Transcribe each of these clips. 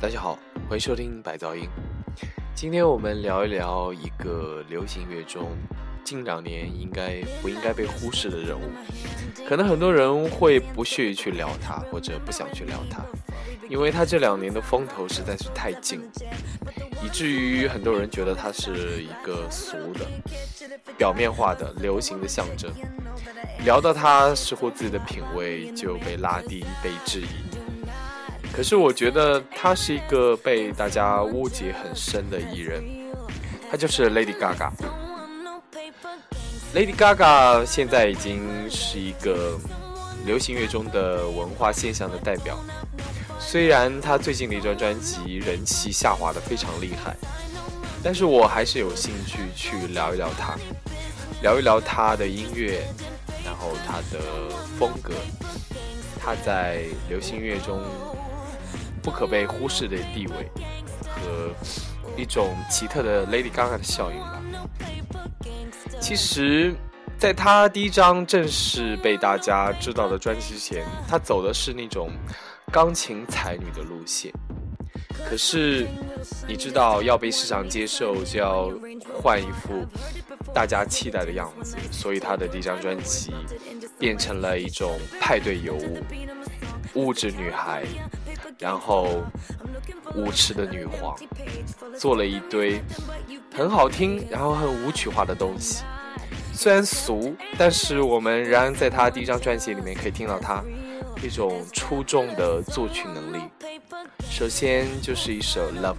大家好，欢迎收听白噪音。今天我们聊一聊一个流行乐中近2年不应该被忽视的人物。可能很多人会不屑于去聊他，或者不想去聊他，因为他这2年的风头实在是太劲，以至于很多人觉得他是一个俗的、表面化的流行的象征。聊到他，似乎自己的品味就被拉低、被质疑。可是我觉得他是一个被大家误解很深的艺人，他就是 Lady Gaga。Lady Gaga 现在已经是一个流行乐中的文化现象的代表。虽然他最近的一张专辑人气下滑得非常厉害，但是我还是有兴趣去聊一聊他，聊一聊他的音乐，然后他的风格，他在流行乐中不可被忽视的地位和一种奇特的 Lady Gaga 的效应吧。其实在他第一张正式被大家知道的专辑之前，他走的是那种钢琴才女的路线。可是你知道，要被市场接受就要换一副大家期待的样子，所以他的第一张专辑变成了一种派对尤物，物质女孩，然后舞池的女皇，做了一堆很好听然后很舞曲化的东西。虽然俗，但是我们仍然在他第一张专辑里面可以听到他一种出众的作曲能力。首先就是一首 Love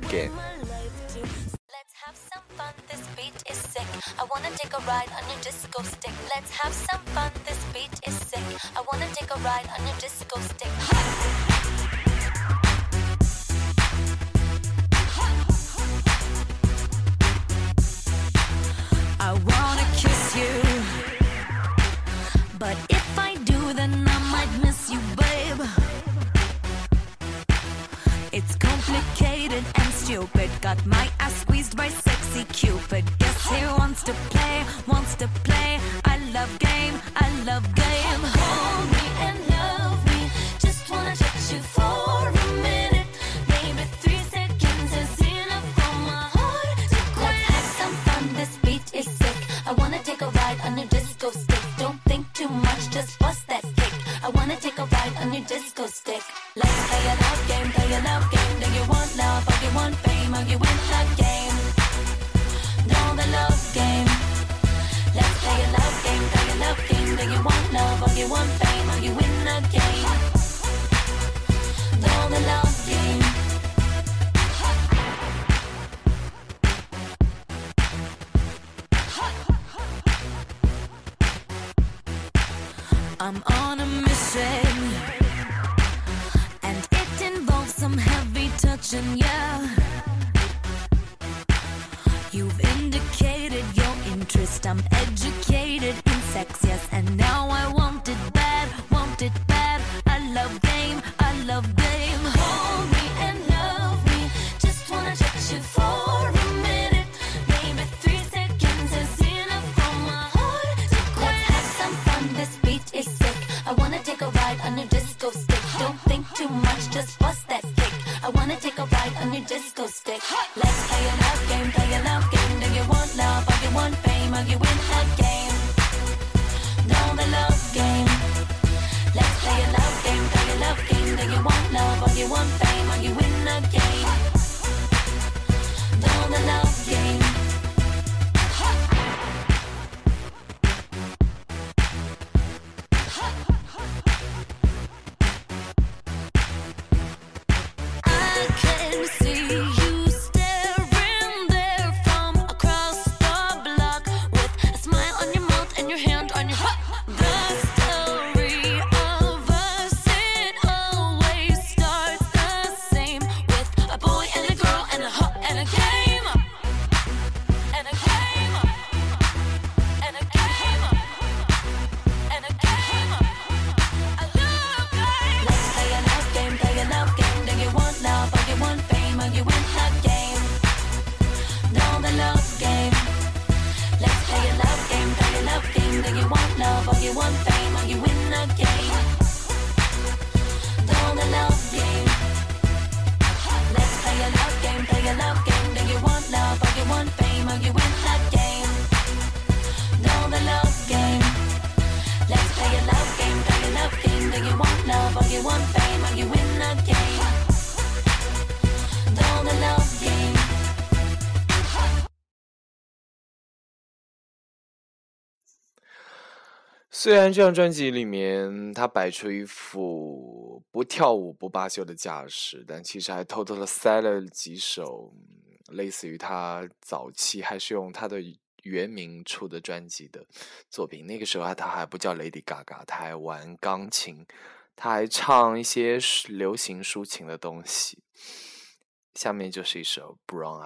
Game。I wanna take a ride on your disco stick. Let's have some fun. This beat is sick. I wanna take a ride on your disco stick. I wanna kiss you, but if I do, then I might miss you, babe. It's complicated and stupid. Got my ass squeezed by sexy Cupid. Guess he wants to play. I love game. Hold me and love me. Just wanna touch you for a minute. Maybe 3 seconds is enough for my heart to quit. Let's have some fun. This beat is sick. I wanna take a ride on your disco stick. Don't think too much, just bust that kick. I wanna take a ride on your disco stick. Let's play a love game. Do you want love or you want fame? Or you win the game? Know the love game. Let's play a love game. Do you want love or you want fame? Or you win the game? Know the love game. I'm on a mission, and it involves some heavy touching, yeah. You've indicated your interest, I'm educated in sex, yes, and now I want it bad. I love game. Hold me and love me, just wanna touch you for a minute. Maybe 3 seconds is enough for my heart to quit. Let's have some fun, this beat is sick. I wanna take a ride on your disco stick. Don't think too much, just bust that kick. I wanna take a ride on your disco stick. Let's play a love game. Do you want love or you want fame? Or you win the game? 虽然这张专辑里面他摆出一副不跳舞不罢休的架势，但其实还偷偷的塞了几首类似于他早期还是用他的原名出的专辑的作品。那个时候他还不叫 Lady Gaga， 他还玩钢琴，他还唱一些流行抒情的东西。下面就是一首 Brown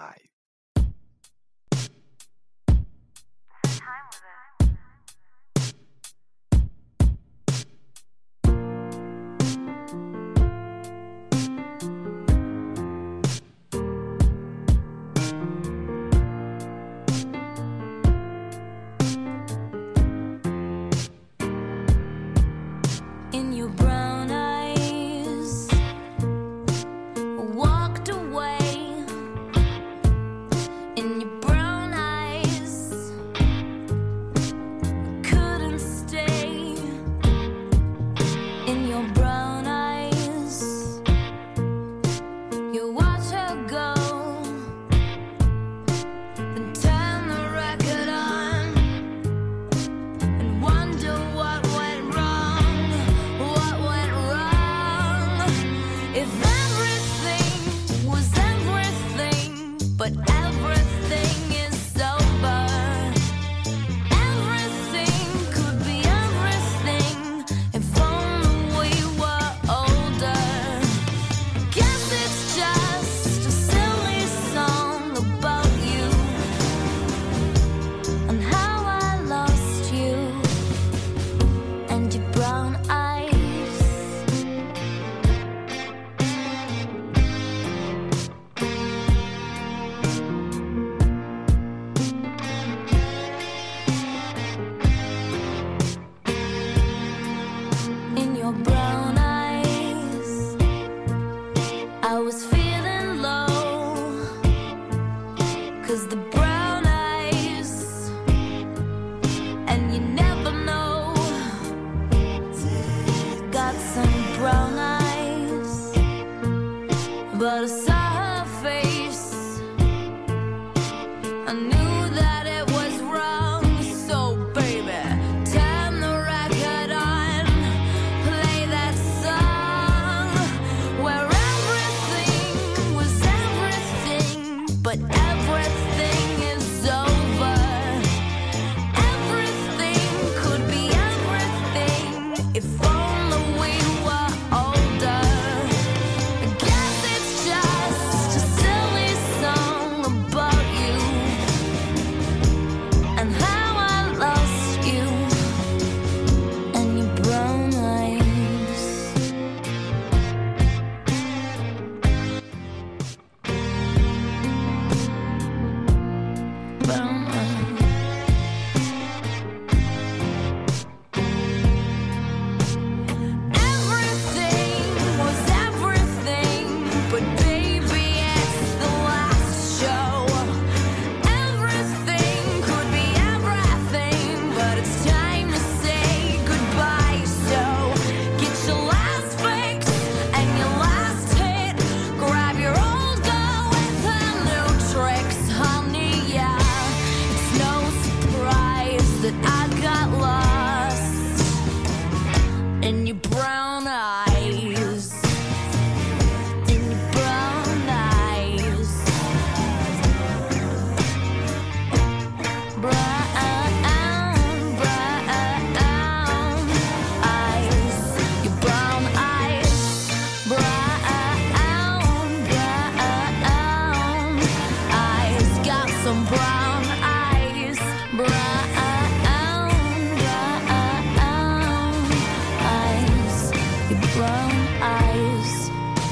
eyes.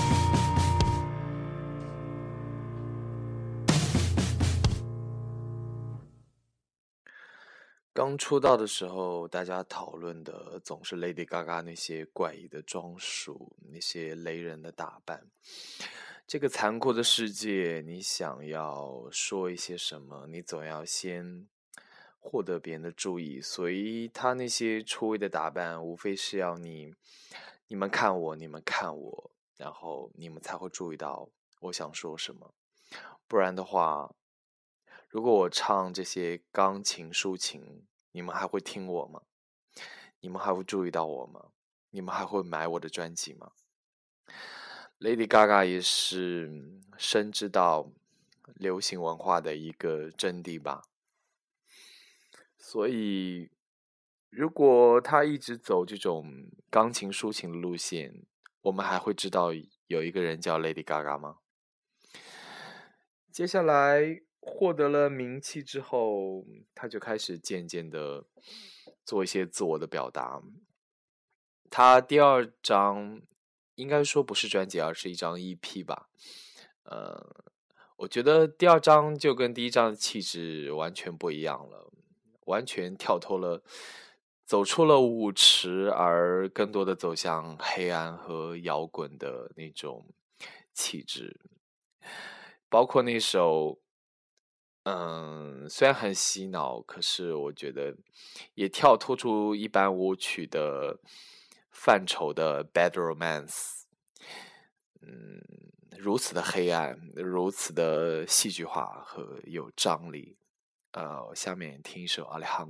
刚出道的时候，大家讨论的总是 Lady Gaga 那些怪异的装束，那些雷人的打扮。这个残酷的世界，你想要说一些什么，你总要先获得别人的注意，所以他那些出位的打扮，无非是要你们看我，你们看我，然后你们才会注意到我想说什么。不然的话，如果我唱这些钢琴抒情，你们还会听我吗？ 你们还会注意到我吗？你们还会买我的专辑吗？ Lady Gaga 也是深知到流行文化的一个真谛吧，所以如果他一直走这种钢琴抒情的路线，我们还会知道有一个人叫 Lady Gaga 吗？接下来获得了名气之后，他就开始渐渐的做一些自我的表达。他第二张应该说不是专辑，而是一张 EP 吧。我觉得第二张就跟第一张的气质完全不一样了，完全跳脱了，走出了舞池，而更多的走向黑暗和摇滚的那种气质。包括那首虽然很洗脑，可是我觉得也跳脱出一般舞曲的范畴的 Bad Romance。如此的黑暗，如此的戏剧化和有张力。下面听一首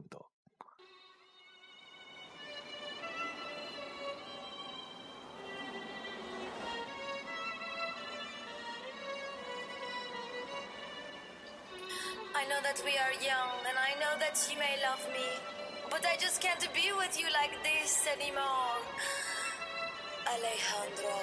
I know that we are young, and I know that you may love me, but I just can't be with you like this anymore. Alejandro.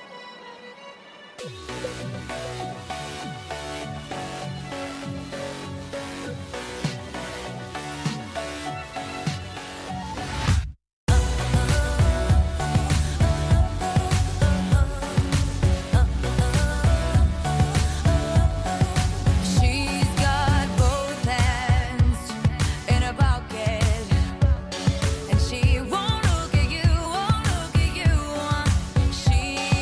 She's got both hands in her pocket, and she won't look at you, won't look at you. She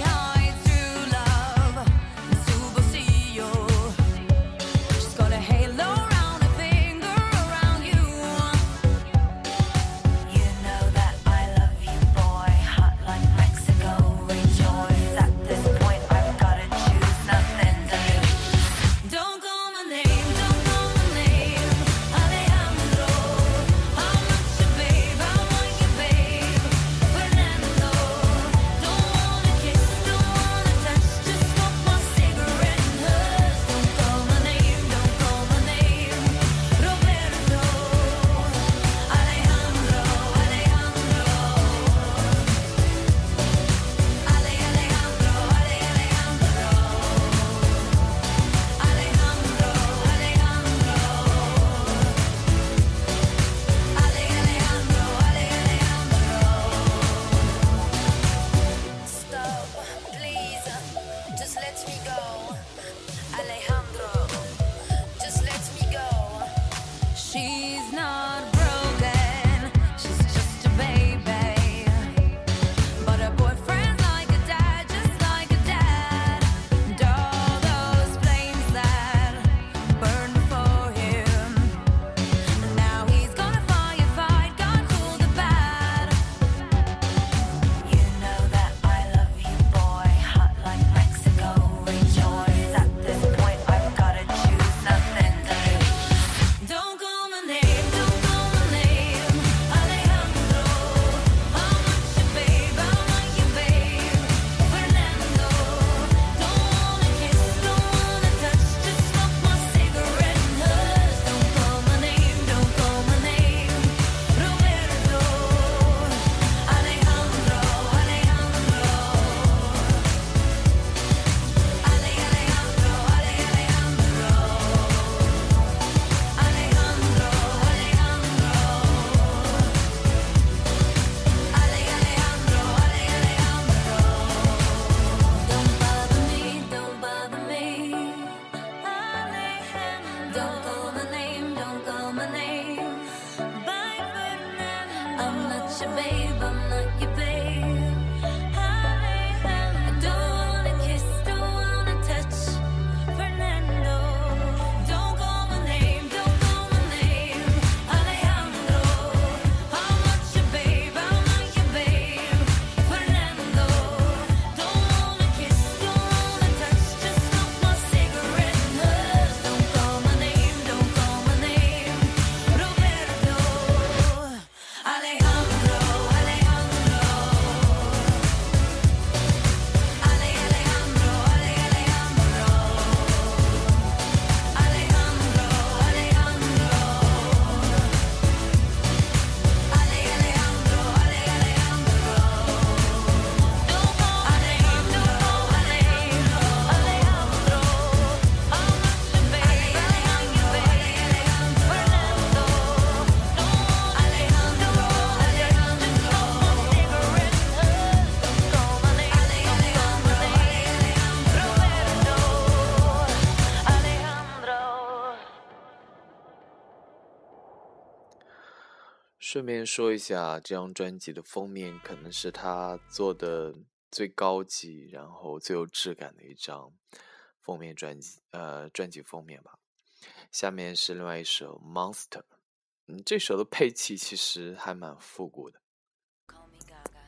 顺便说一下，这张专辑的封面可能是他做的最高级，然后最有质感的一张封面专辑封面吧。下面是另外一首《Monster》，这首的配器其实还蛮复古的。 Call me Gaga.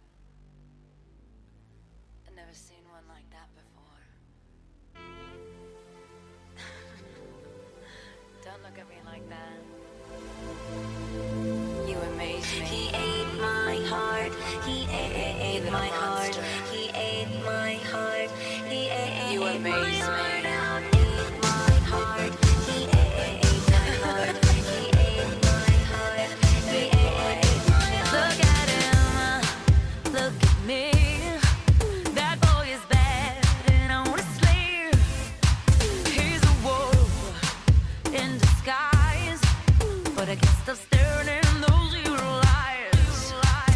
I've never seen one like that before. Don't look at me like that. You amaze me. He ate my heart. He ate my heart. He ate my heart. He ate you amaze me. Ate my heart. He ate my heart. He ate my heart. He ate my heart. Look at him. Look at me. That boy is bad and honestly, he's a wolf in disguise. But I guess they're staring in those evil eyes.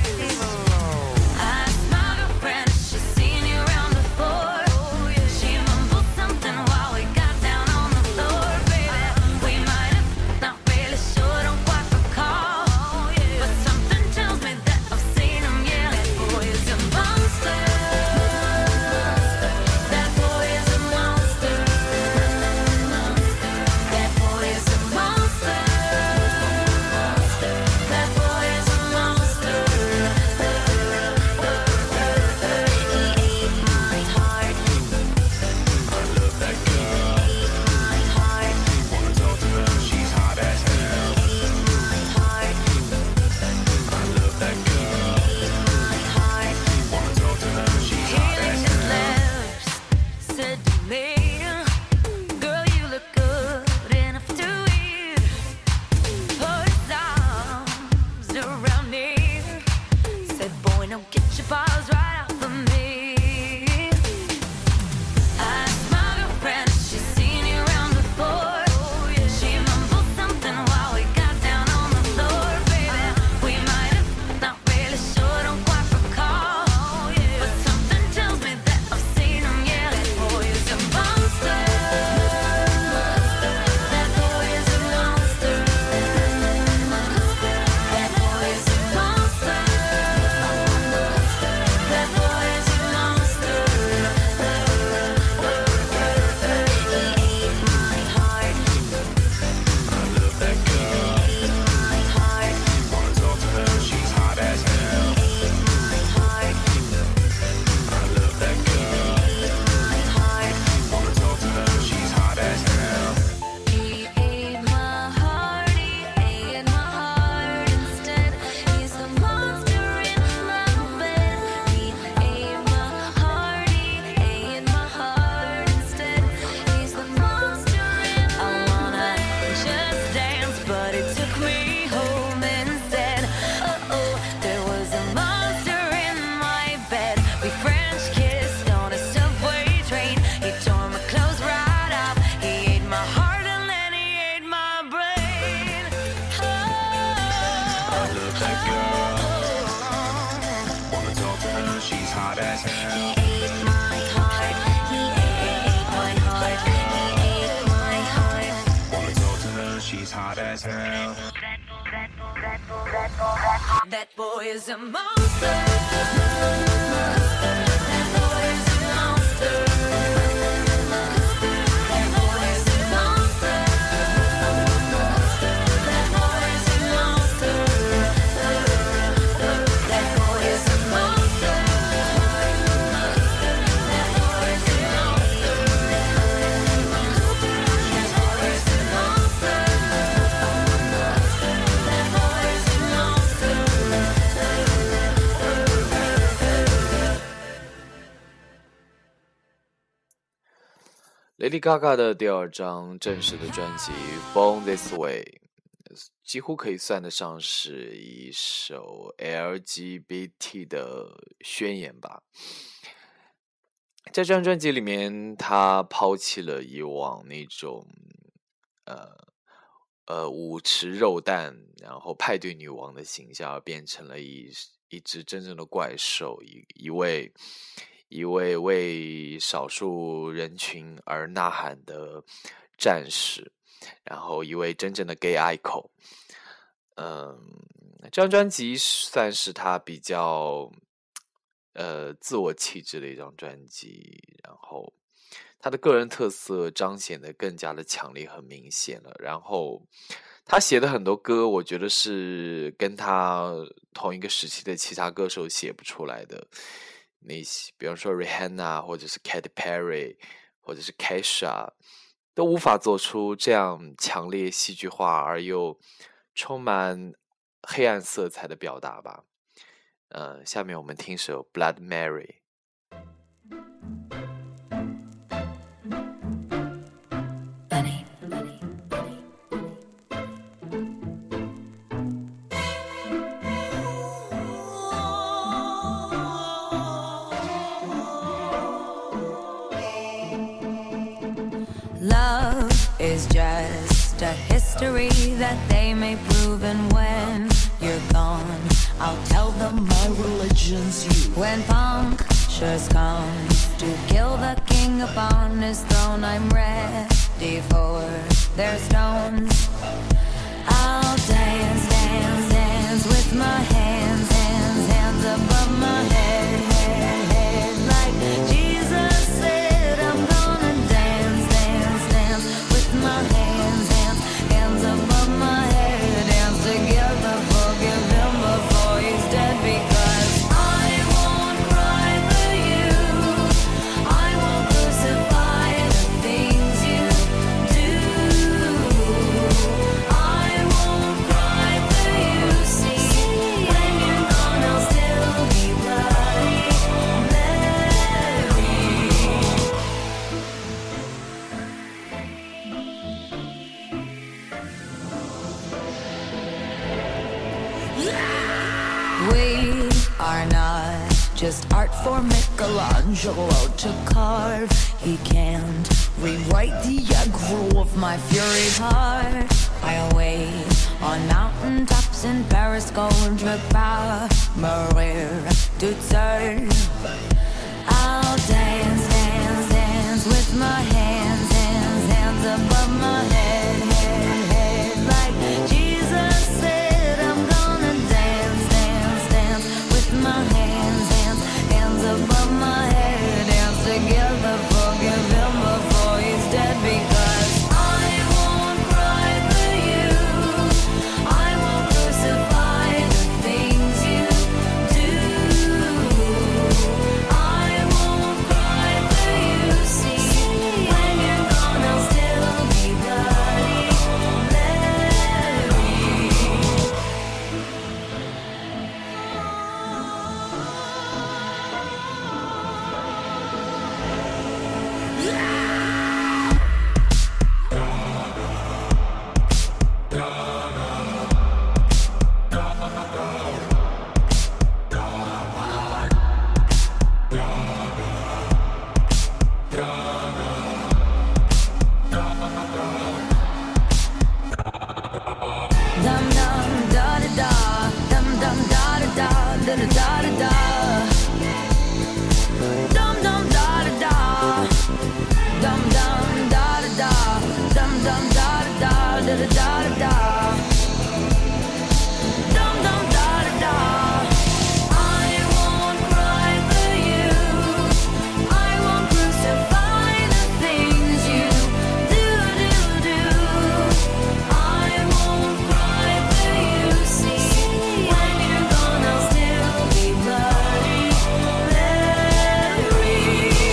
I asked my girlfriend if she's seen you around before. She mumbled something while we got down on the floor. Baby, we might have, not really sure, don't quite recall. But something tells me that I've seen him, yeah. That boy is a monster. That boy is a monster. That boy is a monster. That boy is a monster. He ate my heart. I love that girl. He ate my heart. Wanna talk to her, she's hot as hell. He ate my heart. I love that girl. He ate my heart. Wanna talk to her, she's hot as hell. He licked his lips, said to me, girl, you look good enough to eat. Put his arms around me, said, boy, now get your paws right off of me. I asked my girlfriend if she's seen you around before. She mumbled something while we got down on the floor. Baby, we might have, not really sure, don't quite recall. But something tells me that I've seen him, yeah. That boy is a monster. That boy is a monster. That boy is a monster. That boy is a monster. He ate my heart. I love that girl. He ate my heart. Wanna talk to her, she's hot as hell. He ate my heart. I love that girl. He ate my heart. Wanna talk to her, she's hot as hell. He ate my heart. He ate my heart instead. He's the monster in my bed. He ate my heart. He ate my heart instead. He's the monster in my bed. I wanna just dance, but it took me home instead. Oh, there was a monster in my bed. We French kissed on a subway train. He tore my clothes right off. He ate my heart and then he ate my brain. I love that girl. Wanna talk to her, she's hot as hell. He ate my heart. He ate my heart. He ate my heart. Wanna talk to her, she's hot as hell. That boy is a monster. That boy is a monster. That boy is a monster. That boy is a monster. That boy is a monster. That boy is a monster. That boy is a monster. That boy is a monster. Lady Gaga 的第二张正式的专辑《Born This Way》几乎可以算得上是一首 LGBT 的宣言吧。在这张专辑里面，他抛弃了以往那种舞池肉蛋，然后派对女王的形象，而变成了一只真正的怪兽，一位为少数人群而呐喊的战士，然后一位真正的 gay icon。 这张专辑算是他比较自我气质的一张专辑，然后他的个人特色彰显的更加的强烈和明显了。然后他写的很多歌，我觉得是跟他同一个时期的其他歌手写不出来的那些，比方说 Rihanna 或者是 Katy Perry 或者是 Kesha 都无法做出这样强烈戏剧化而又充满黑暗色彩的表达吧。下面我们听首 Blood Mary。 Benny. Love is just a history that they may prove, and when you're gone, I'll tell them my religion's you. When punctures come to kill the king upon his throne, I'm ready for their stones. I'll dance, dance, dance with my hands, hands, hands above my head, head, head. Like Jesus said, I'm gonna dance, dance, dance with my hands, hands, hands above my head. Dance together, forgive him before he's dead, because I won't cry for you. I won't crucify the things you do. I won't cry for you. See, when you're gone, I'll still be Bloody Mary. We are not just art for Michelangelo to carve. He can't rewrite the aggro of my fury heart. I'll wait on mountaintops in Paris, contre pas mourir toute seule. I'll dance, dance, dance with my hands, hands, hands above my head, head, head. Like Jesus said, I'm gonna dance, dance, dance with my hands, hands, hands above my head. Dance together, forgive him before he's dead, because I won't cry for you. I won't crucify the things you do. I won't cry for you. See, when you're gone, I'll still be Bloody Mary. Dum dum da da da, dum dum da da da, da da da da da. Dum dum da da da, dum dum da da da, dum dum da da da, da da da da da. Dum dum da da da. I won't cry for you. I won't crucify the things you do, do, do. I won't cry for you. See, when you're gone, I'll still be Bloody Mary.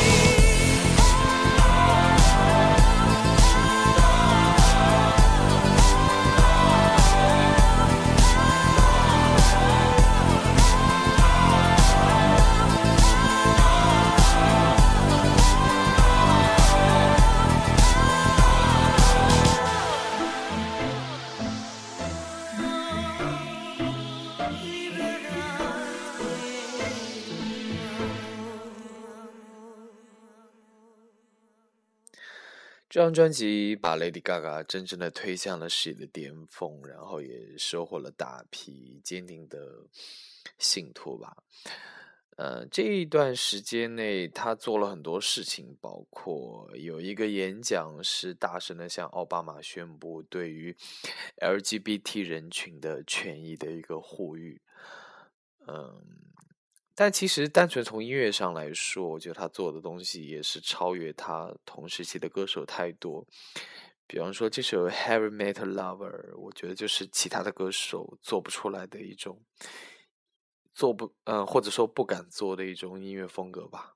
这张专辑把 Lady Gaga 真正的推向了事业的巅峰，然后也收获了大批坚定的信徒吧。 这一段时间内，他做了很多事情，包括有一个演讲是大声的向奥巴马宣布对于 LGBT 人群的权益的一个呼吁。但其实单纯从音乐上来说，我觉得他做的东西也是超越他同时期的歌手太多。比方说这首 Heavy Metal Lover， 我觉得就是其他的歌手做不出来的一种或者说不敢做的一种音乐风格吧。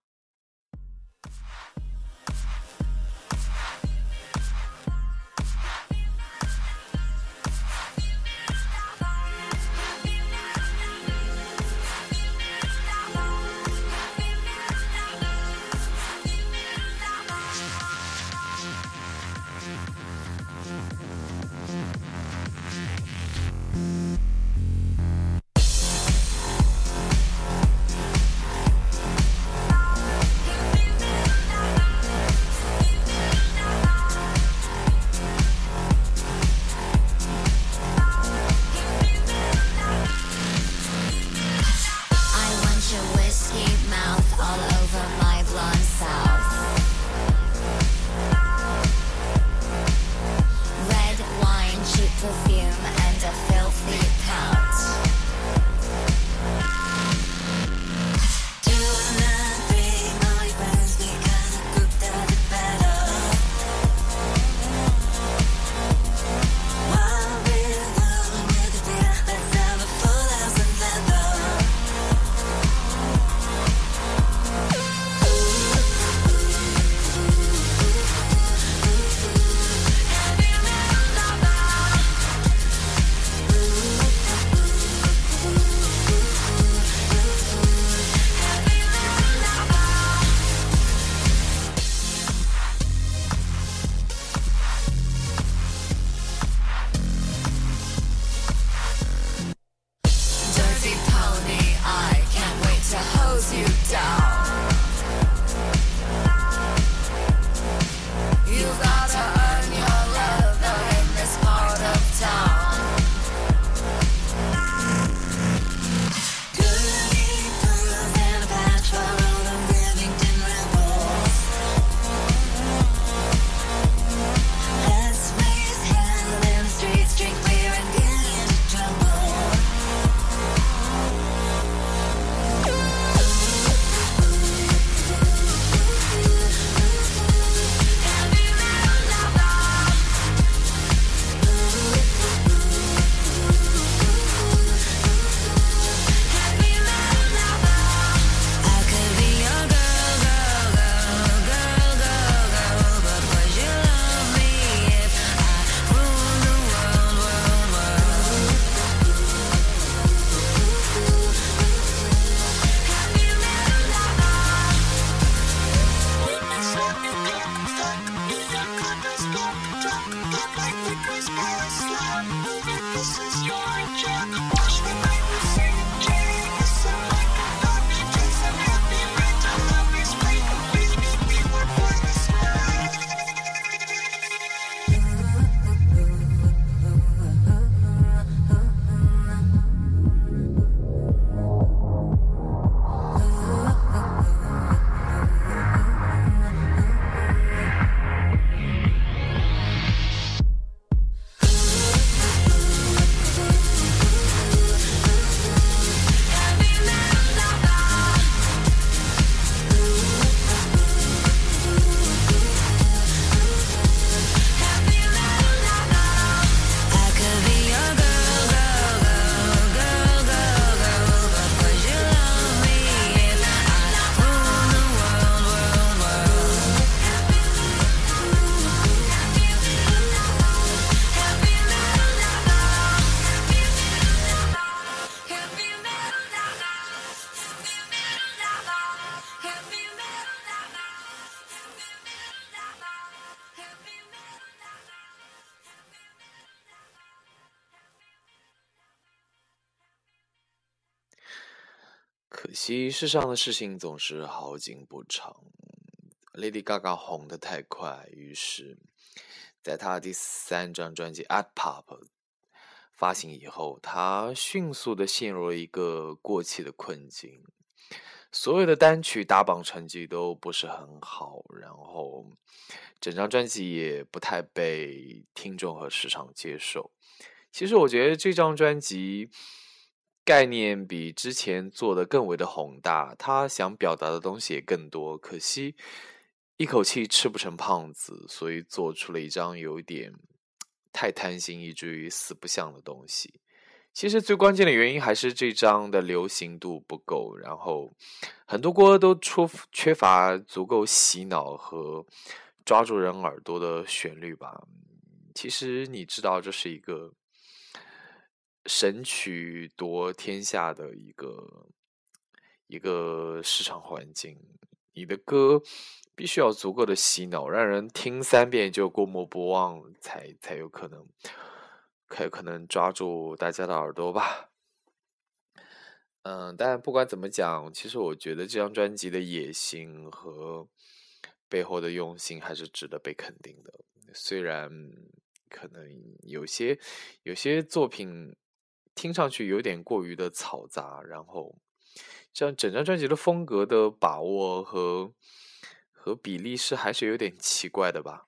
可惜世上的事情总是好景不长 ，Lady Gaga 红得太快，于是在她第3张专辑《Art Pop》发行以后，她迅速地陷入了一个过气的困境。 所有的单曲打榜成绩都不是很好，然后整张专辑也不太被听众和市场接受。其实我觉得这张专辑概念比之前做的更为的宏大，他想表达的东西也更多，可惜一口气吃不成胖子，所以做出了一张有一点太贪心以至于四不像的东西。其实最关键的原因还是这张的流行度不够，然后很多歌都缺乏足够洗脑和抓住人耳朵的旋律吧。其实你知道这是一个神曲夺天下的一个市场环境，你的歌必须要足够的洗脑，让人听3遍就过目不忘，才有可能抓住大家的耳朵吧。但不管怎么讲，其实我觉得这张专辑的野心和背后的用心还是值得被肯定的。虽然可能有些作品听上去有点过于的嘈杂，然后这样整张专辑的风格的把握和比例还是有点奇怪的吧。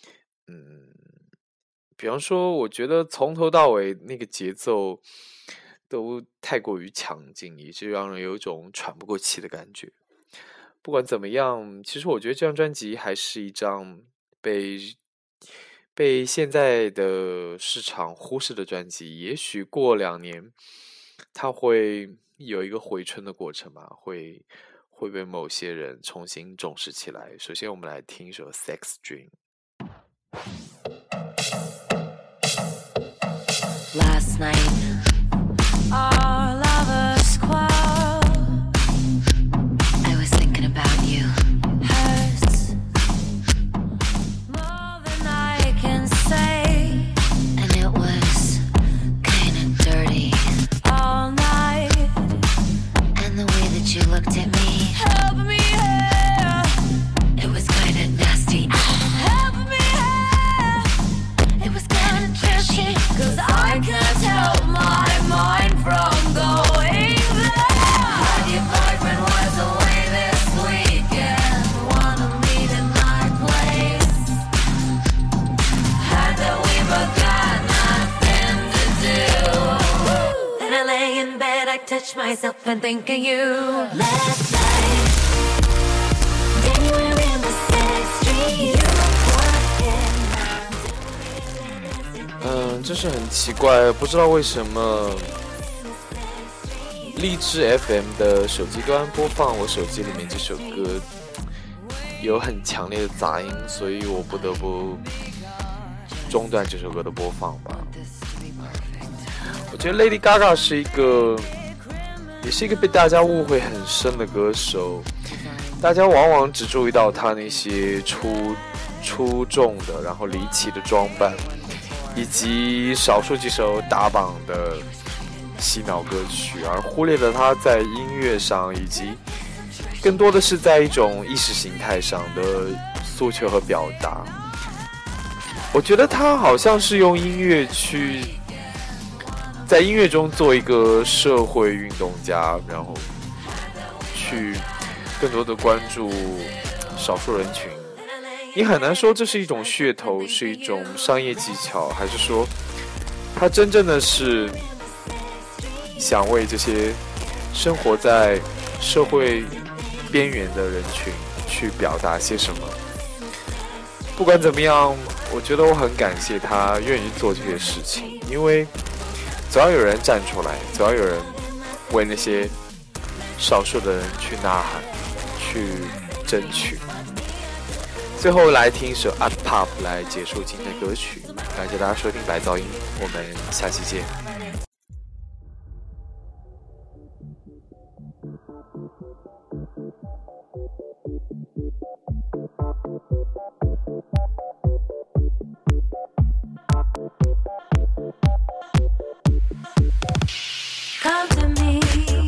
比方说我觉得从头到尾那个节奏都太过于强劲，以致让人有一种喘不过气的感觉。不管怎么样，其实我觉得这张专辑还是一张被现在的市场忽视的专辑。也许过2年它会有一个回春的过程吧，会被某些人重新重视起来。首先我们来听一首 Sex Dream。 Last night, our lovers quarreled. I was thinking about you. Hurts more than I can say, and it was kinda dirty all night. And the way that you looked at me, help me here. It was kinda nasty. Help me here. It was kinda tricky, 'cause I can't help my mind from going there. And your boyfriend was away this weekend. Wanna meet in my place. Had that we both got nothing to do. Then I lay in bed, I touch myself and think of you. Last night, anywhere in the sex street. You were 真是很奇怪，不知道为什么荔枝 FM 的手机端播放我手机里面这首歌有很强烈的杂音，所以我不得不中断这首歌的播放吧。我觉得 Lady Gaga 也是一个被大家误会很深的歌手，大家往往只注意到她那些出众的然后离奇的装扮，以及少数几首打榜的洗脑歌曲，而忽略了他在音乐上以及更多的是在一种意识形态上的诉求和表达。我觉得他好像是用音乐在音乐中做一个社会运动家，然后去更多的关注少数人群。你很难说这是一种噱头，是一种商业技巧，还是说他真正的是想为这些生活在社会边缘的人群去表达些什么。不管怎么样，我觉得我很感谢他愿意做这些事情，因为总要有人站出来，总要有人为那些少数的人去呐喊，去争取。最后来听一首 Art Pop 来结束今天的歌曲，感谢大家收听白噪音，我们下期见。 Come to me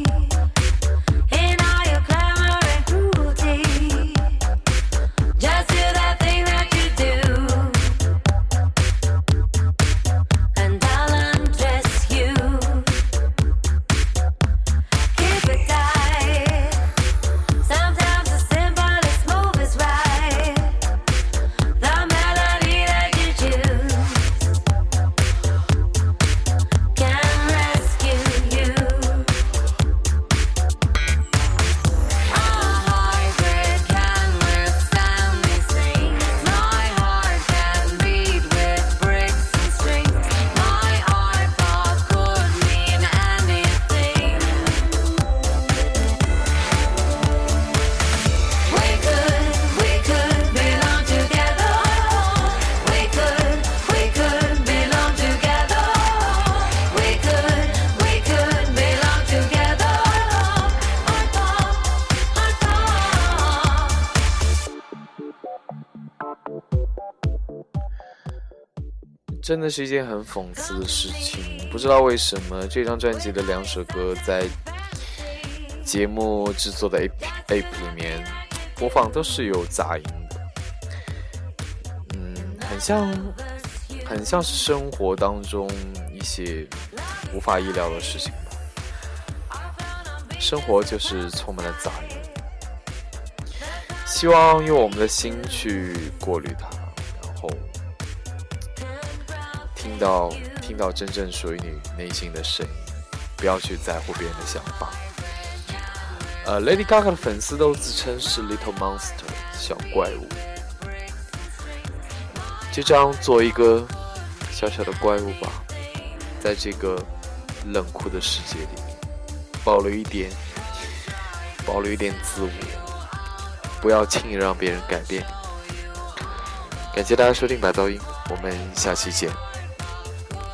in all your glamour and cruelty. Just do that thing that you do, and I'll undress 真的是一件很讽刺的事情。不知道为什么这张专辑的2首歌在节目制作的 app 里面播放都是有杂音的，很像是生活当中一些无法意料的事情吧。生活就是充满了杂音，希望用我们的心去过滤它，然后听到真正属于你内心的声音，不要去在乎别人的想法。Lady Gaga 的粉丝都自称是 Little Monster 小怪物，就这样做一个小小的怪物吧，在这个冷酷的世界里面保留一点自我，不要轻易让别人改变你。感谢大家收听白噪音，我们下期见。